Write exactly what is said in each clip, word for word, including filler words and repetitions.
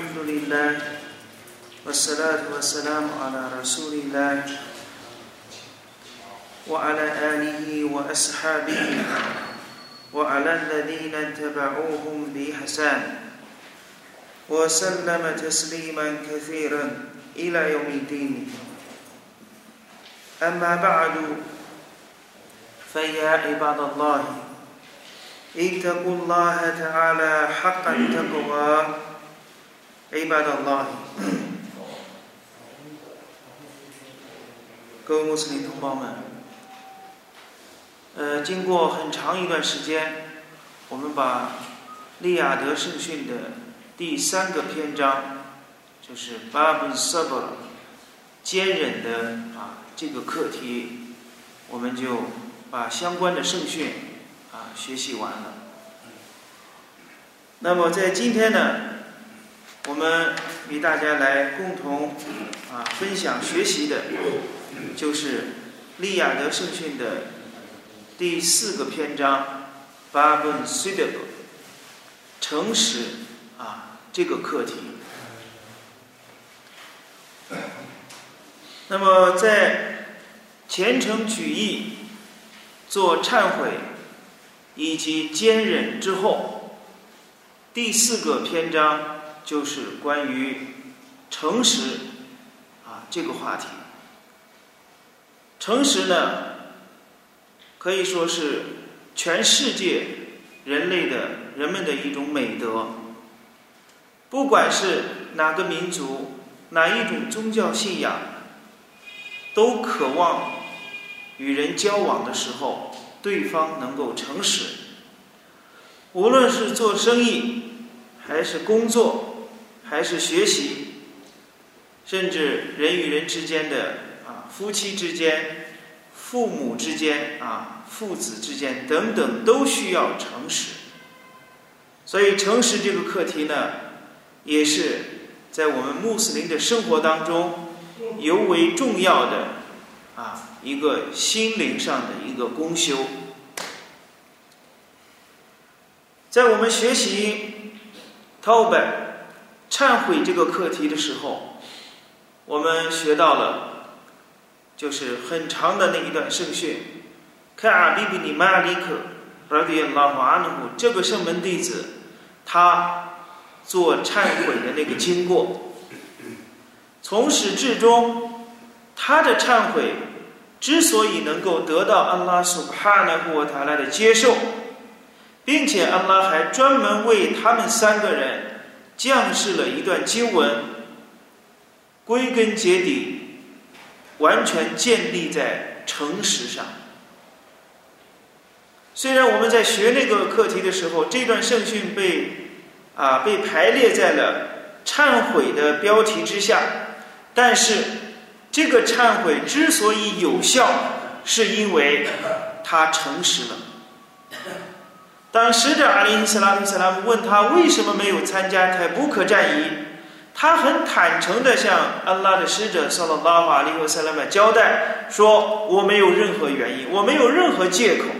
الحمد لله والصلاة والسلام على رسول الله وعلى آله وأصحابه وعلى الذين اتبعوهم بإحسان وسلم تسليما كثيرا إلى يوم الدين. أما بعد فيا عباد الله اتقوا الله تعالى حق التقوى عباد الله。各位穆斯林同胞们，呃，经过很长一段时间，我们把利雅得圣训的第三个篇章，就是巴布萨布坚忍的啊这个课题，我们就把相关的圣训啊学习完了。那么在今天呢，我们与大家来共同啊分享学习的，就是利雅得圣训的第四个篇章巴布萨布诚实啊这个课题。那么在虔诚举义、做忏悔以及坚忍之后，第四个篇章就是关于诚实啊这个话题。诚实呢，可以说是全世界人类的人们的一种美德，不管是哪个民族、哪一种宗教信仰，都渴望与人交往的时候对方能够诚实。无论是做生意还是工作还是学习，甚至人与人之间的啊夫妻之间、父母之间啊父子之间等等，都需要诚实。所以诚实这个课题呢，也是在我们穆斯林的生活当中尤为重要的啊一个心灵上的一个功修。在我们学习tawbah忏悔这个课题的时候，我们学到了就是很长的那一段圣训，卡比比尼马里克拉迪亚拉华安努这个圣门弟子他做忏悔的那个经过，从始至终他的忏悔之所以能够得到安拉苏巴哈纳胡瓦塔拉的接受，并且安拉还专门为他们三个人降示了一段经文，归根结底完全建立在诚实上。虽然我们在学那个课题的时候，这段圣训被啊被排列在了忏悔的标题之下，但是这个忏悔之所以有效，是因为他诚实了。当使者阿里·斯拉姆·斯拉姆问他为什么没有参加泰布克战役，他很坦诚地向安拉的使者萨拉拉瓦里和萨拉姆交代说，我没有任何原因，我没有任何借口。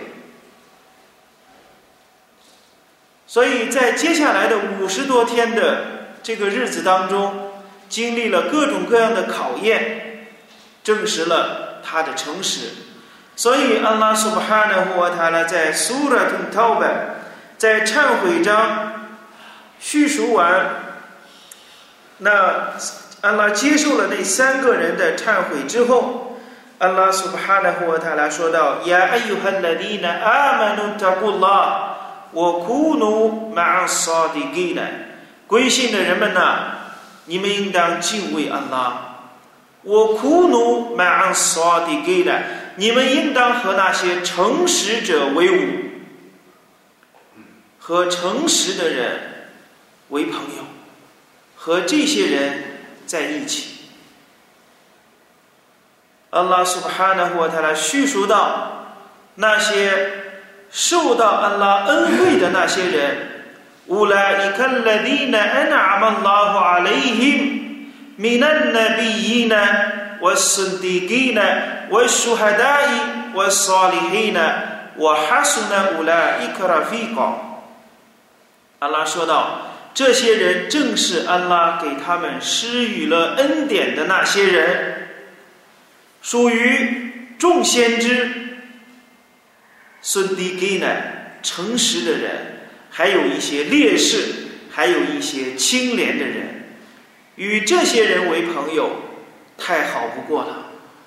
所以在接下来的五十多天的这个日子当中，经历了各种各样的考验，证实了他的诚实。所以安拉苏巴哈纳胡瓦塔拉在苏拉图陶巴在忏悔章叙述完，那安拉接受了那三个人的忏悔之后，安拉苏巴哈纳胡瓦塔拉说道：呀艾尤哈拉迪纳阿曼努塔古拉我库努马萨迪吉呢，归信的人们呐、啊，你们应当敬畏安拉。我库努马萨迪吉呢，你们应当和那些诚实者为伍，和诚实的人为朋友，和这些人在一起。安拉苏巴哈纳胡瓦塔拉叙述到那些受到安拉恩惠的那些人，乌拉伊卡拉迪纳安阿曼拉胡阿雷ഹിം من النبيين والصديقين والشهداء والصالحين وحسن أولئك رفيقا。安拉说道， 这些人正是安拉给他们施予了恩典的那些人，属于众先知、孙迪基呢诚实的人，还有一些烈士，还有一些清廉的人，与这些人为朋友太好不过了。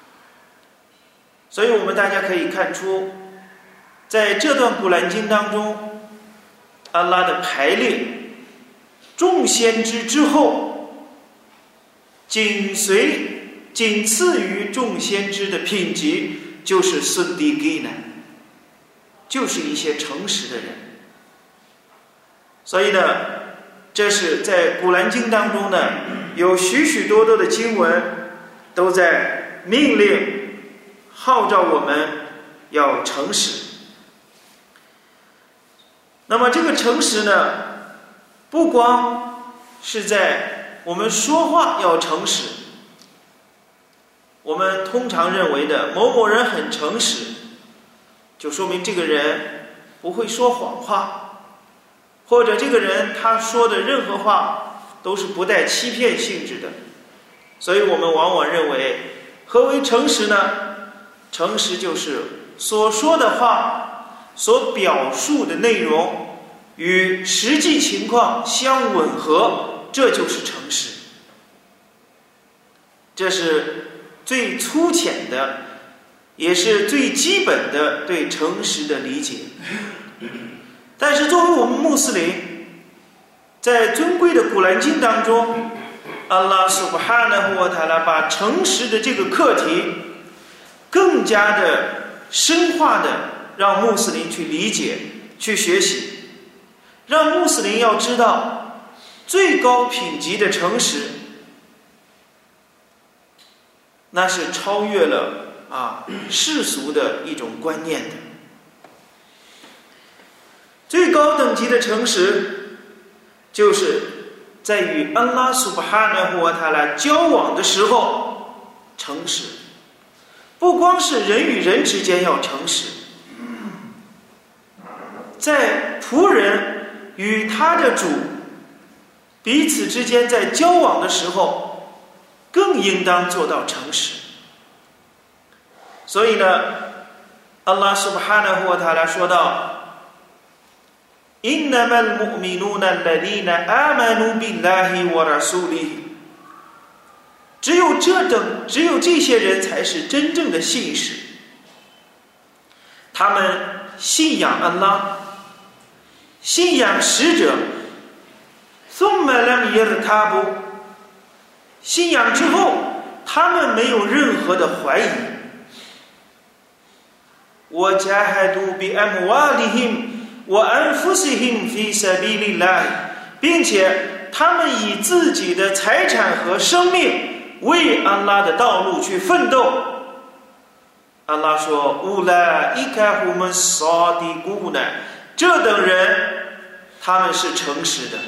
所以我们大家可以看出，在这段古兰经当中，安拉的排列，众先知之后，紧随仅次于众先知的品级就是孙迪基呢，就是一些诚实的人。所以呢，这是在古兰经当中呢，有许许多多的经文都在命令号召我们要诚实。那么这个诚实呢，不光是在我们说话要诚实，我们通常认为的某某人很诚实，就说明这个人不会说谎话，或者这个人他说的任何话都是不带欺骗性质的。所以我们往往认为，何为诚实呢？诚实就是所说的话所表述的内容与实际情况相吻合，这就是诚实。这是最粗浅的，也是最基本的对诚实的理解。但是作为我们穆斯林，在尊贵的古兰经当中，安拉苏布哈纳胡wa ta'ala把诚实的这个课题更加的深化的让穆斯林去理解、去学习，让穆斯林要知道最高品级的诚实，那是超越了啊世俗的一种观念的。最高等级的诚实，就是在与安拉苏布哈纳胡wa ta'ala交往的时候诚实。不光是人与人之间要诚实，在仆人与他的主彼此之间在交往的时候，更应当做到诚实。所以呢，安拉苏布哈纳胡wa ta'ala说道：“إنما المؤمنون الذين آمنوا بالله ورسوله。”只有这等，只有这些人才是真正的信士。他们信仰安拉，信仰使者， ثم لم يرتابوا， 信仰之后，他们没有任何的怀疑。وجاهدوا بأموالهم وأنفسهم في سبيل الله， 并且他们以自己的财产和生命为安拉的道路去奋斗。安拉说：“乌拉伊卡胡们萨迪古呢，这等人他们是诚实的，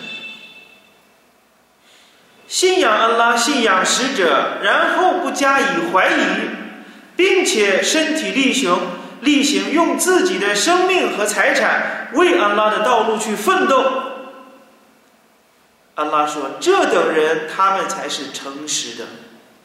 信仰安拉，信仰使者，然后不加以怀疑，并且身体力行，力行用自己的生命和财产为安拉的道路去奋斗。”安拉说：“这等人他们才是诚实的。”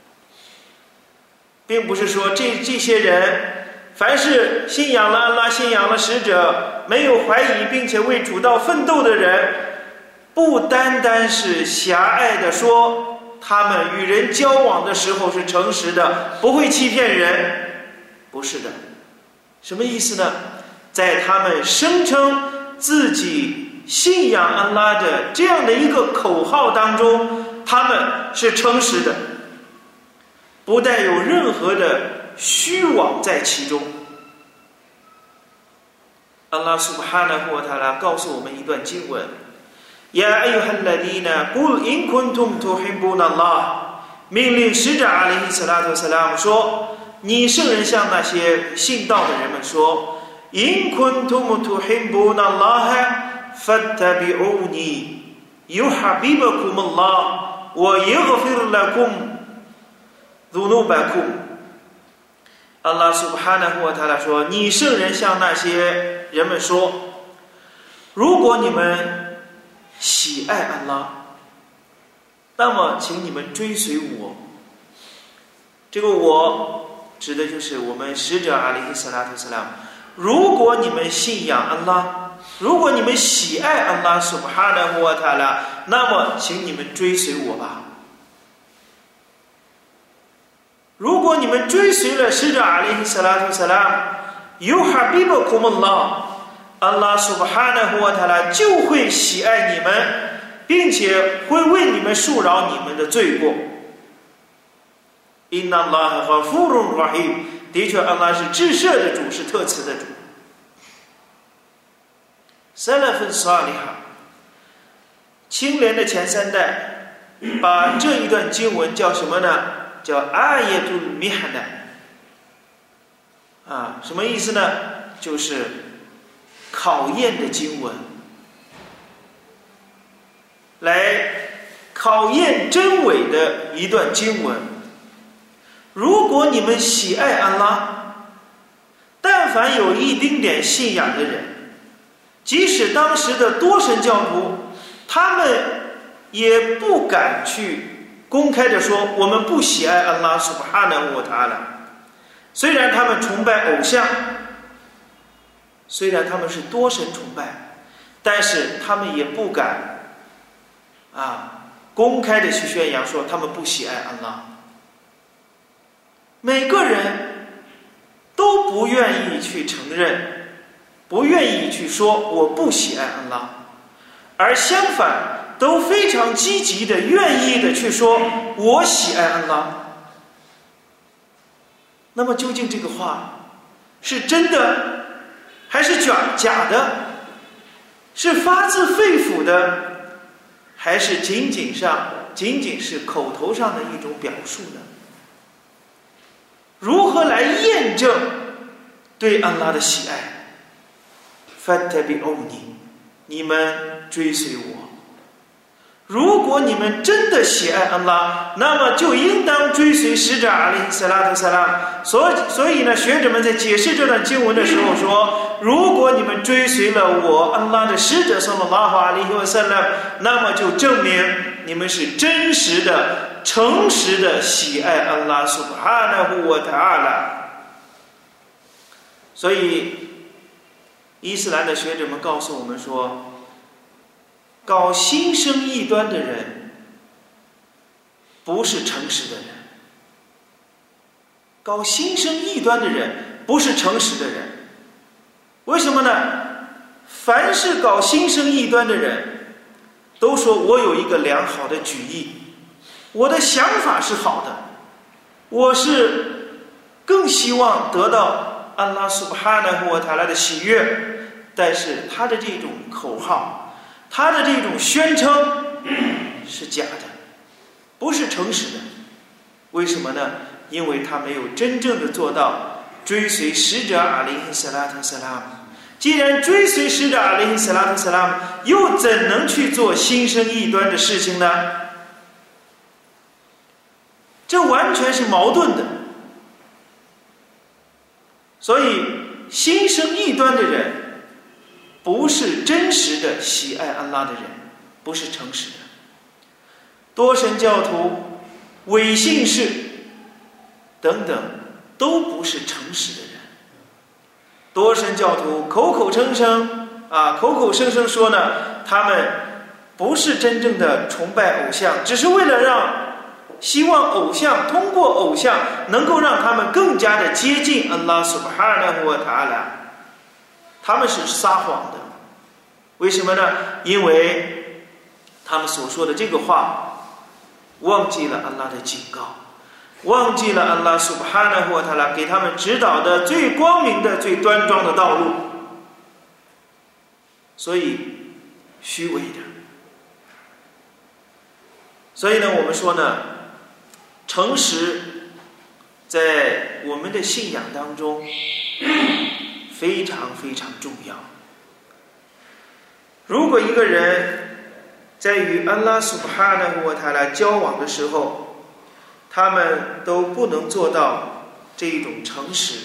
并不是说这这些人凡是信仰了安拉，信仰了使者，没有怀疑并且为主道奋斗的人，不单单是狭隘的说他们与人交往的时候是诚实的，不会欺骗人。不是的。什么意思呢？在他们声称自己信仰安拉的这样的一个口号当中，他们是诚实的，不带有任何的虚妄在其中。安拉苏布哈纳胡wa ta'ala告诉我们一段经文：呀أيها الذين قل إن كنتم تحبون الله， 命令使者阿里·斯拉特·萨拉姆说，你圣人向那些信道的人们说， إن كنتم تحبون الله فاتبعوني يحببكم الله ويغفر لكم ذنوبكم。 安拉苏布哈纳胡wa ta'ala说，你圣人向那些人们说，如果你们喜爱安拉，那么请你们追随我。这个我指的就是我们使者阿里·萨拉特斯拉姆。如果你们信仰安拉，如果你们喜爱安拉苏巴哈纳胡瓦塔拉，那么请你们追随我吧。如果你们追随了使者阿里·萨拉特斯拉姆，尤哈比布库姆拉，安拉苏巴哈纳胡瓦塔拉就会喜爱你们，并且会为你们恕饶你们的罪过。因那拉和富荣拉希，的确，安拉是至赦的主，是特慈的主。萨拉芬萨里哈，清廉的前三代，把这一段经文叫什么呢？叫阿耶杜米哈纳。啊，什么意思呢？就是考验的经文，来考验真伪的一段经文。如果你们喜爱安拉，但凡有一丁点信仰的人，即使当时的多神教徒，他们也不敢去公开的说我们不喜爱安拉苏巴哈纳沃塔拉。虽然他们崇拜偶像，虽然他们是多神崇拜，但是他们也不敢啊公开的去宣扬说他们不喜爱安拉。每个人都不愿意去承认，不愿意去说我不喜爱安拉，而相反都非常积极的愿意的去说我喜爱安拉。那么究竟这个话是真的还是假假的？是发自肺腑的，还是仅仅上仅仅是口头上的一种表述呢？如何来验证对安拉的喜爱？ fattabi'uni， 你们追随我。如果你们真的喜爱安拉，那么就应当追随使者阿里·萨拉特·萨拉。所以，所以呢，学者们在解释这段经文的时候说，如果你们追随了我安拉的使者صلى الله عليه وسلم，那么就证明你们是真实的、诚实的喜爱安拉苏巴哈纳胡wa ta'ala。所以，伊斯兰的学者们告诉我们说，搞心生异端的人不是诚实的人，搞心生异端的人不是诚实的人。为什么呢？凡是搞心生异端的人都说我有一个良好的举意，我的想法是好的，我是更希望得到安拉苏巴哈纳胡wa ta'ala的喜悦，但是他的这种口号，他的这种宣称是假的，不是诚实的。为什么呢？因为他没有真正的做到追随使者阿里·萨拉特·萨拉姆。既然追随使者阿里·萨拉特·萨拉姆，又怎能去做心生异端的事情呢？这完全是矛盾的。所以心生异端的人不是真实的喜爱安拉的人，不是诚实的。多神教徒、伪信士等等都不是诚实的人。多神教徒口口声声啊，口口声声说呢，他们不是真正的崇拜偶像，只是为了让希望偶像通过偶像能够让他们更加的接近安拉苏巴哈纳胡wa ta'ala。他们是撒谎的。为什么呢？因为他们所说的这个话忘记了安拉的警告，忘记了安拉苏巴哈纳胡wa ta'ala给他们指导的最光明的、最端庄的道路，所以虚伪的。所以呢，我们说呢，诚实在我们的信仰当中非常非常重要。如果一个人在与安拉苏巴哈纳胡wa ta'ala交往的时候，他们都不能做到这一种诚实，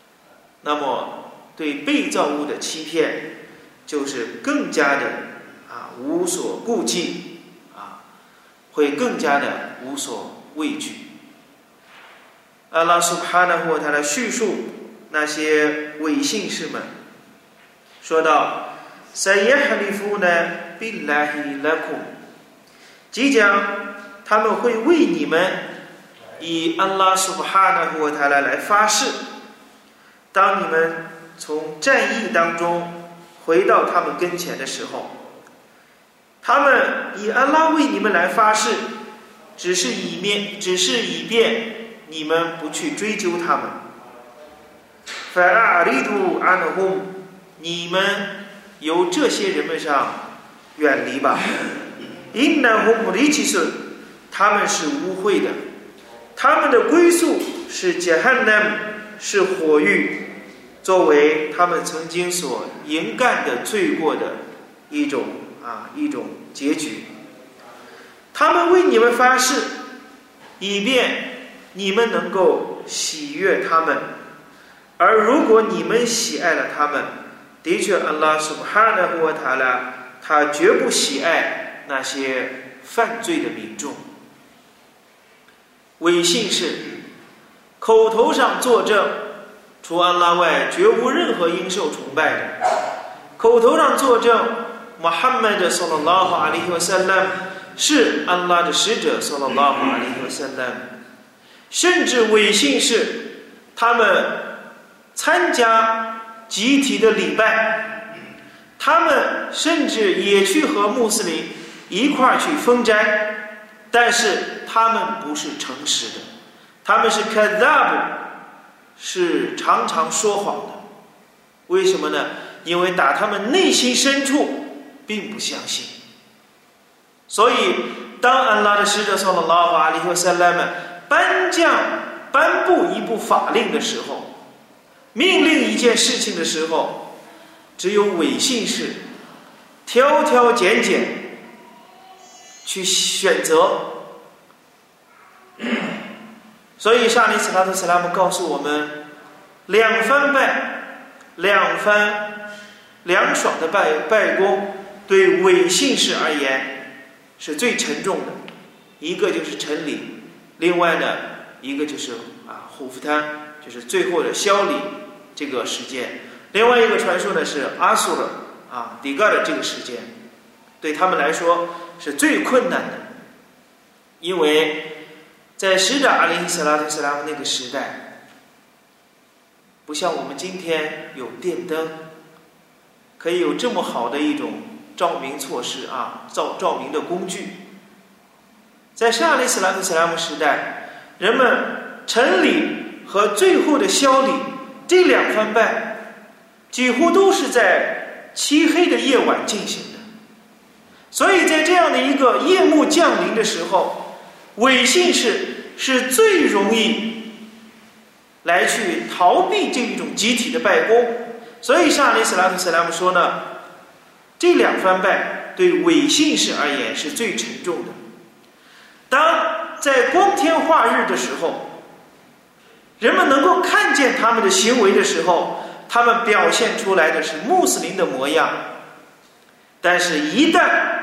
那么对被造物的欺骗就是更加的啊无所顾忌啊，会更加的无所畏惧。阿拉苏哈纳霍他的叙述那些伪信士们说道：“Sayyahlifuna billahi lakum， 即将他们会为你们以安拉苏哈纳霍他来发誓。当你们从战役当中回到他们跟前的时候，他们以安拉为你们来发誓，只是以面，只是以便你们不去追究他们。فَأَعْرِضُوا عَنْهُمْ， 你们由这些人们上远离吧。إِنَّهُمْ رِجِسٌ， 他们是污秽的，他们的归宿是 Jahannam， 是火狱，作为他们曾经所营干的罪过的一种啊一种结局。他们为你们发誓，以便你们能够喜悦他们，而如果你们喜爱了他们，的确安拉苏布哈纳胡瓦塔拉他绝不喜爱那些犯罪的民众。伪信士口头上作证除安拉外绝无任何应受崇拜的，口头上作证穆罕默德صلى الله عليه وسلم是安拉的使者صلى الله عليه وسلم，甚至伪信士他们参加集体的礼拜，他们甚至也去和穆斯林一块去封斋，但是他们不是诚实的，他们是 kadhab， 是常常说谎的。为什么呢？因为打他们内心深处并不相信。所以当安拉的使者sallallahu alaihi wasallam颁降颁布一部法令的时候，命令一件事情的时候，只有伪信士挑挑拣拣去选择。所以沙利斯拉特斯拉姆告诉我们，两番拜两番凉爽的拜拜功对伪信士而言是最沉重的，一个就是陈礼，另外呢一个就是啊虎符滩，就是最后的消礼这个时间，另外一个传说呢是阿苏尔啊底盖的这个时间，对他们来说是最困难的。因为在使者阿里·斯拉特·斯拉姆那个时代，不像我们今天有电灯，可以有这么好的一种照明措施啊，照照明的工具。在圣阿里·斯拉特·斯拉姆时代，人们晨礼和最后的消礼这两番拜，几乎都是在漆黑的夜晚进行的。所以在这样的一个夜幕降临的时候，伪信士是最容易来去逃避这一种集体的拜功。所以上阿里斯拉特斯拉姆说呢，这两番拜对伪信士而言是最沉重的。当在光天化日的时候，人们能够看见他们的行为的时候，他们表现出来的是穆斯林的模样，但是一旦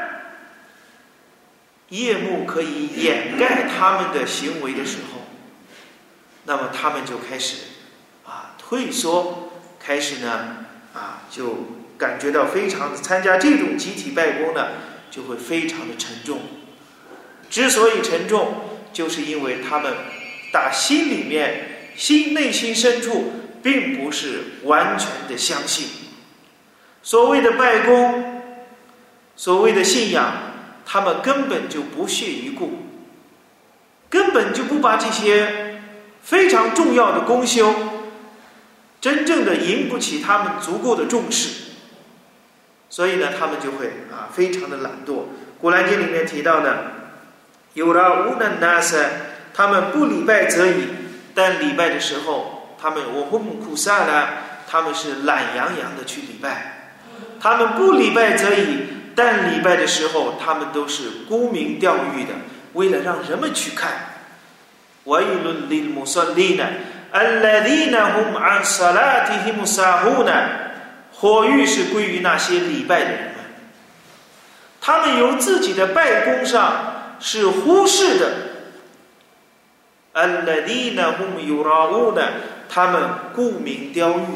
夜幕可以掩盖他们的行为的时候，那么他们就开始啊退缩，开始呢啊就感觉到非常的参加这种集体拜功呢就会非常的沉重。之所以沉重，就是因为他们打心里面心内心深处并不是完全的相信。所谓的拜功，所谓的信仰，他们根本就不屑一顾，根本就不把这些非常重要的功修真正的引不起他们足够的重视，所以呢他们就会啊非常的懒惰。古兰经里面提到呢，有了无能纳塞，他们不礼拜则已，但礼拜的时候他们我们苦萨呢，他们是懒洋洋的去礼拜。他们不礼拜则已，但礼拜的时候他们都是沽名钓誉的，为了让人们去看。وَيْلٌ لِلْمُصَلِّينَ الَّذِينَ هُمْ عَنْ صَلَاتِهِمْ سَاهُونَ， 火狱是归于那些礼拜的人们。 他们由自己的拜功上是忽视的。الذين هم يراؤون，他们沽名钓誉，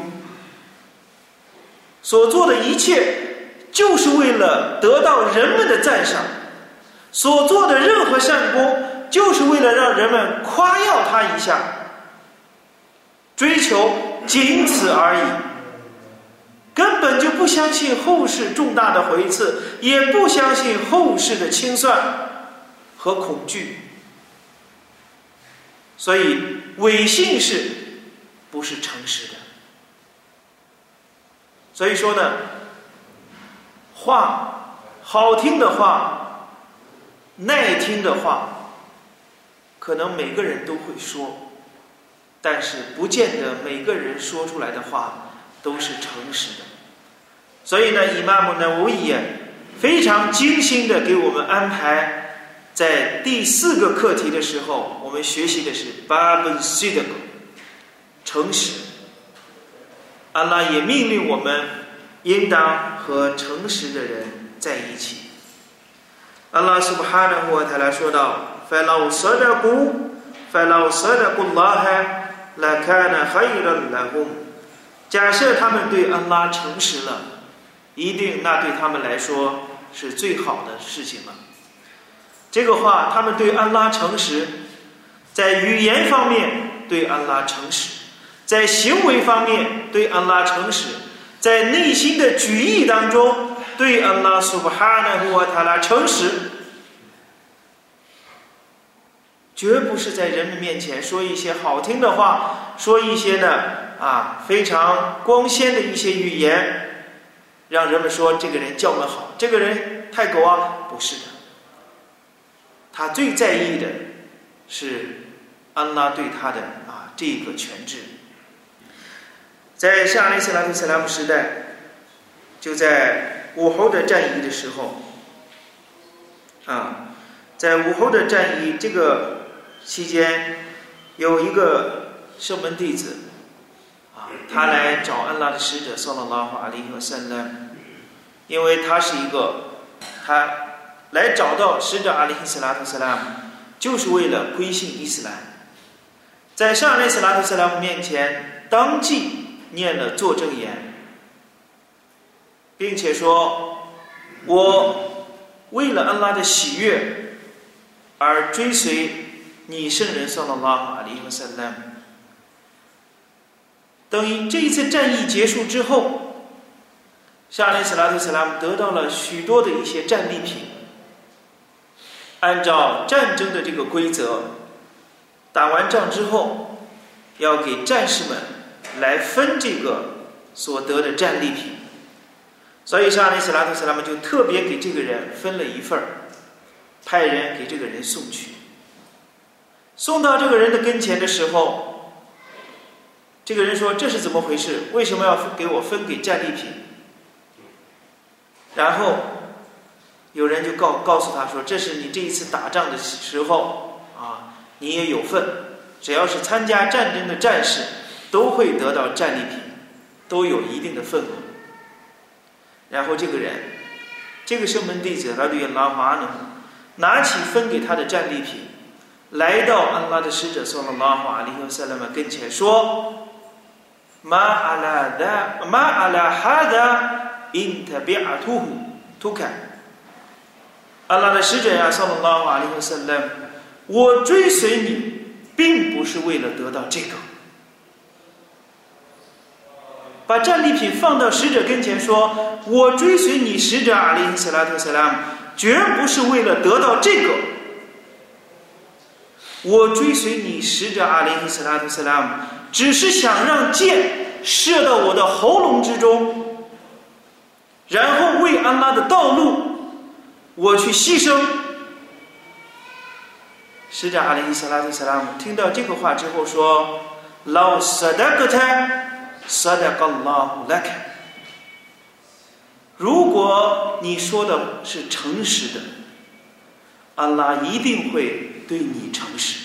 所做的一切就是为了得到人们的赞赏，所做的任何善功就是为了让人们夸耀他一下，追求仅此而已，根本就不相信后世重大的回赐，也不相信后世的清算和恐惧。所以伪信是不是诚实的？所以说呢，话好听的话，耐听的话，可能每个人都会说，但是不见得每个人说出来的话都是诚实的。所以呢，伊玛目呢维也非常精心的给我们安排，在第四个课题的时候，我们学习的是巴本西德，诚实。安拉也命令我们应当和诚实的人在一起。安拉苏布哈纳胡塔拉说道 فَلَوْ صَدَقُوا فَلَوْ صَدَقُوا اللَّهَ لَكَانَ خَيْرًا لَهُمْ 假设他们对安拉诚实了，一定那对他们来说是最好的事情了。这个话，他们对安拉诚实，在语言方面对安拉诚实，在行为方面对安拉诚实，在内心的举意当中对安拉苏布哈纳胡瓦塔拉诚实，绝不是在人们面前说一些好听的话，说一些呢啊非常光鲜的一些语言，让人们说这个人教门好，这个人太狗啊，不是的。他最在意的是安拉对他的啊这个权制。在沙利斯拉特斯拉姆时代，就在武侯的战役的时候啊，在武侯的战役这个期间，有一个圣门弟子啊，他来找安拉的使者萨拉拉哈阿里和塞勒，因为他是一个他来找到使者阿里斯拉特斯拉姆，就是为了归信伊斯兰。在上阿里斯拉特斯拉姆面前，当即念了作证言，并且说：“我为了安拉的喜悦而追随你圣人萨拉拉哈阿里和塞勒。”等于这一次战役结束之后，沙利斯拉特斯拉姆得到了许多的一些战利品。按照战争的这个规则，打完仗之后要给战士们来分这个所得的战利品，所以沙利斯拉特斯拉姆就特别给这个人分了一份，派人给这个人送去。送到这个人的跟前的时候，这个人说：“这是怎么回事？为什么要给我分给战利品？”然后有人就告告诉他说：“这是你这一次打仗的时候啊，你也有份。只要是参加战争的战士，都会得到战利品，都有一定的份额。”然后这个人，这个圣门弟子拉对拉华呢，拿起分给他的战利品，来到安拉的使者萨拉拉哈阿里和塞勒曼跟前说：“马阿拉达马阿拉哈达因特别阿图胡图坎。”安拉的使者呀，萨拉拉哈阿里和塞勒曼，我追随你，并不是为了得到这个。把战利品放到使者跟前说：“我追随你，使者阿里·斯拉特·塞拉姆，绝不是为了得到这个。我追随你，使者阿里·斯拉特·塞拉姆，只是想让箭射到我的喉咙之中，然后为安拉的道路，我去牺牲。”使者阿里·斯拉特·塞拉姆听到这个话之后说：“老萨达格泰。”如果你说的是诚实的，安拉一定会对你诚实。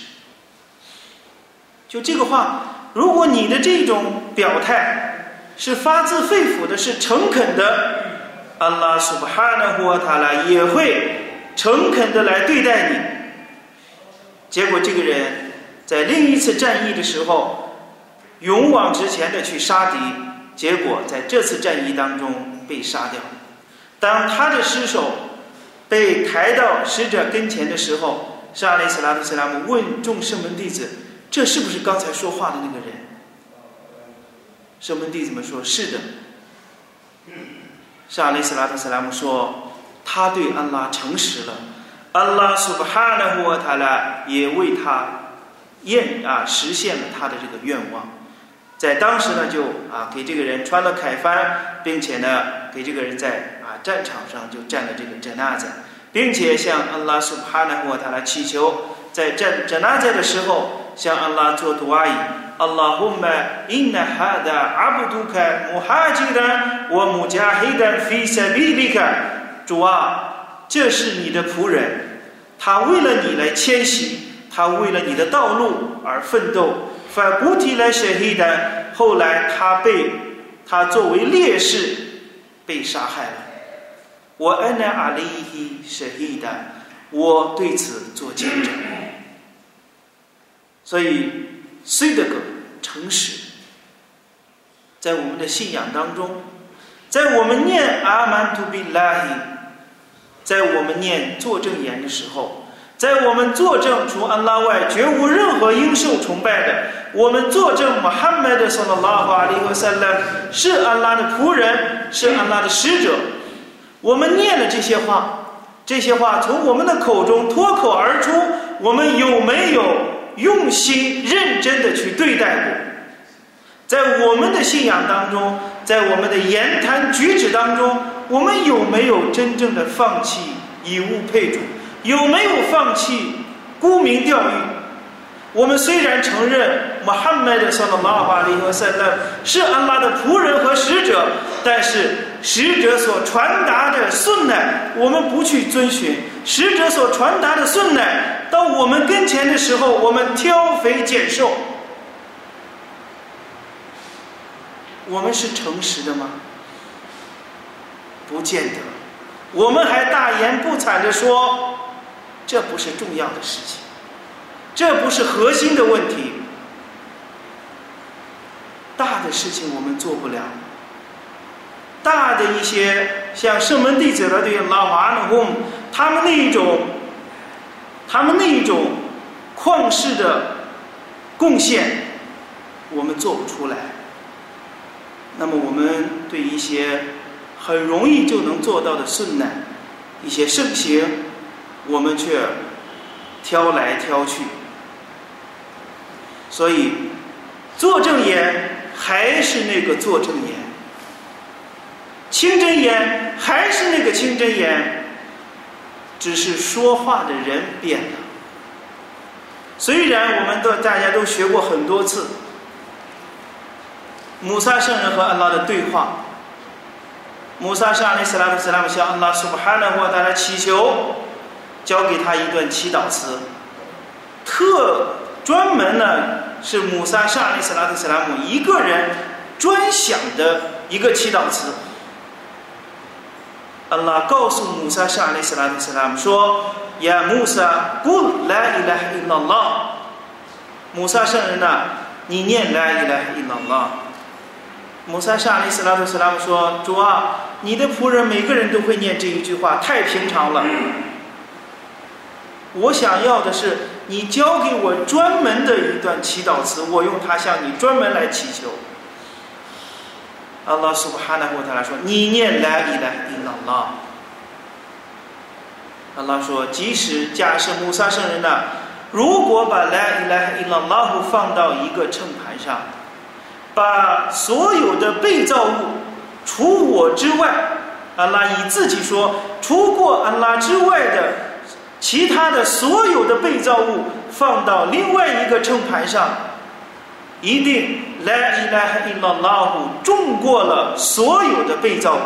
就这个话，如果你的这种表态是发自肺腑的，是诚恳的， 安拉苏布哈纳胡瓦塔拉也会诚恳的来对待你。结果这个人在另一次战役的时候勇往直前的去杀敌，结果在这次战役当中被杀掉。当他的尸首被抬到使者跟前的时候，沙雷斯拉特斯拉姆问众圣门弟子，这是不是刚才说话的那个人？圣门弟子们说，是的。沙雷斯拉特斯拉姆说，他对安拉诚实了，安拉苏布哈纳胡瓦塔拉也为他验啊实现了他的这个愿望。在当时呢，就啊给这个人穿了铠帆，并且呢给这个人在啊战场上就站了这个真纳在，并且向安拉苏布哈纳胡瓦塔拉祈求，在站真纳在的时候向安拉做杜阿伊。اللهم إن هذا عبدك مهاجرا ومجاهدا في سبيلك。 主啊，这是你的仆人，他为了你来迁徙，他为了你的道路而奋斗。فقتل شهيدا， 后来他被他作为烈士被杀害了。وأنا عليه شهيدا， 我对此做见证。所以虽的个诚实，在我们的信仰当中，在我们念阿曼图比拉希，在我们念作证言的时候，在我们作证除安拉外绝无任何应受崇拜的，我们作证穆罕默德صلى الله عليه وسلم是安拉的仆人，是安拉的使者。我们念了这些话，这些话从我们的口中脱口而出，我们有没有用心认真的去对待过？在我们的信仰当中，在我们的言谈举止当中，我们有没有真正的放弃以物配主？有没有放弃沽名钓誉？我们虽然承认穆罕默德صلى الله عليه وسلم是安拉的仆人和使者，但是使者所传达的顺乃我们不去遵循，使者所传达的顺乃到我们跟前的时候，我们挑肥拣瘦。我们是诚实的吗？不见得。我们还大言不惭地说，这不是重要的事情，这不是核心的问题。大的事情我们做不了，大的一些像圣门弟子的对拉瓦努贡，他们那一种他们那一种旷世的贡献我们做不出来。那么我们对一些很容易就能做到的顺乃，一些圣行，我们却挑来挑去。所以作证言还是那个作证言，清真言还是那个清真言，只是说话的人变了。虽然我们都大家都学过很多次穆萨圣人和安拉的对话，穆萨圣阿里斯拉特斯拉姆向安拉苏布哈纳胡瓦塔拉祈求，教给他一段祈祷词，特专门呢是穆萨圣阿里斯拉特斯拉姆一个人专享的一个祈祷词。安拉告诉穆萨圣阿里斯拉特斯拉姆说：“呀，穆萨，古拉伊拉哈伊拉拉。”穆萨圣人呐，你念拉伊拉哈伊拉拉。穆萨圣阿里斯拉特斯拉姆说：“主啊，你的仆人每个人都会念这一句话，太平常了。我想要的是你教给我专门的一段祈祷词，我用它向你专门来祈求。”安拉苏布哈纳胡瓦塔拉说：“你念拉伊拉哈伊拉拉。”安拉说：“即使假设穆萨圣人呢，如果把拉伊拉哈伊拉拉放到一个秤盘上，把所有的被造物除我之外，安拉以自己说，除过安拉之外的其他的所有的被造物放到另外一个秤盘上，一定拉伊拉哈伊拉拉重过了所有的被造物。”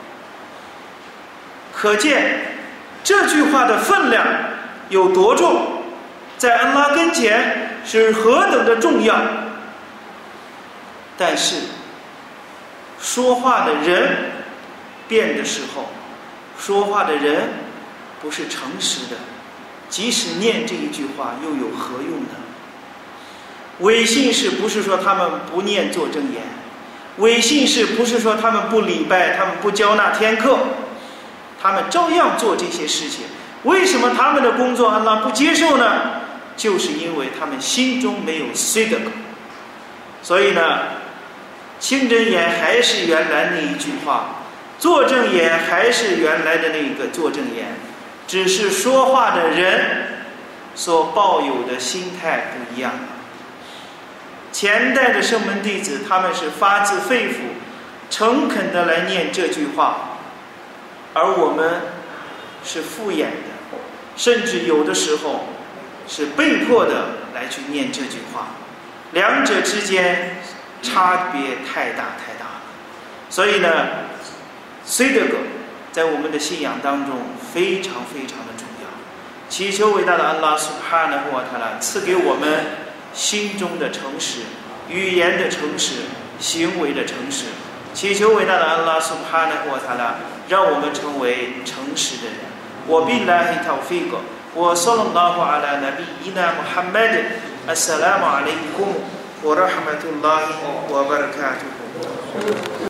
可见这句话的分量有多重，在安拉跟前是何等的重要。但是说话的人变的时候，说话的人不是诚实的，即使念这一句话又有何用呢？伪信士不是说他们不念作正言，伪信士不是说他们不礼拜，他们不交纳天课，他们照样做这些事情。为什么他们的工作安拉不接受呢？就是因为他们心中没有 sidq。 所以呢，清真言还是原来那一句话，作正言还是原来的那个作正言，只是说话的人所抱有的心态不一样了。前代的圣门弟子，他们是发自肺腑诚恳的来念这句话，而我们是敷衍的，甚至有的时候是被迫的来去念这句话，两者之间差别太大太大了。所以呢，虽这个在我们的信仰当中非常非常的重要，祈求伟大的安拉苏哈纳胡瓦塔拉赐给我们心中的诚实，语言的诚实，行为的诚实。祈求伟大的安拉苏哈纳胡瓦塔拉让我们成为诚实的人。我บิลลาฮิตาวฟีกวะศ็อลลัลลอฮุอะลานบีอีนามุฮัมมัดอัสสลามุอะลัยกุมวะเราะห์มะตุลลอฮิวะบะเราะกาตุฮุ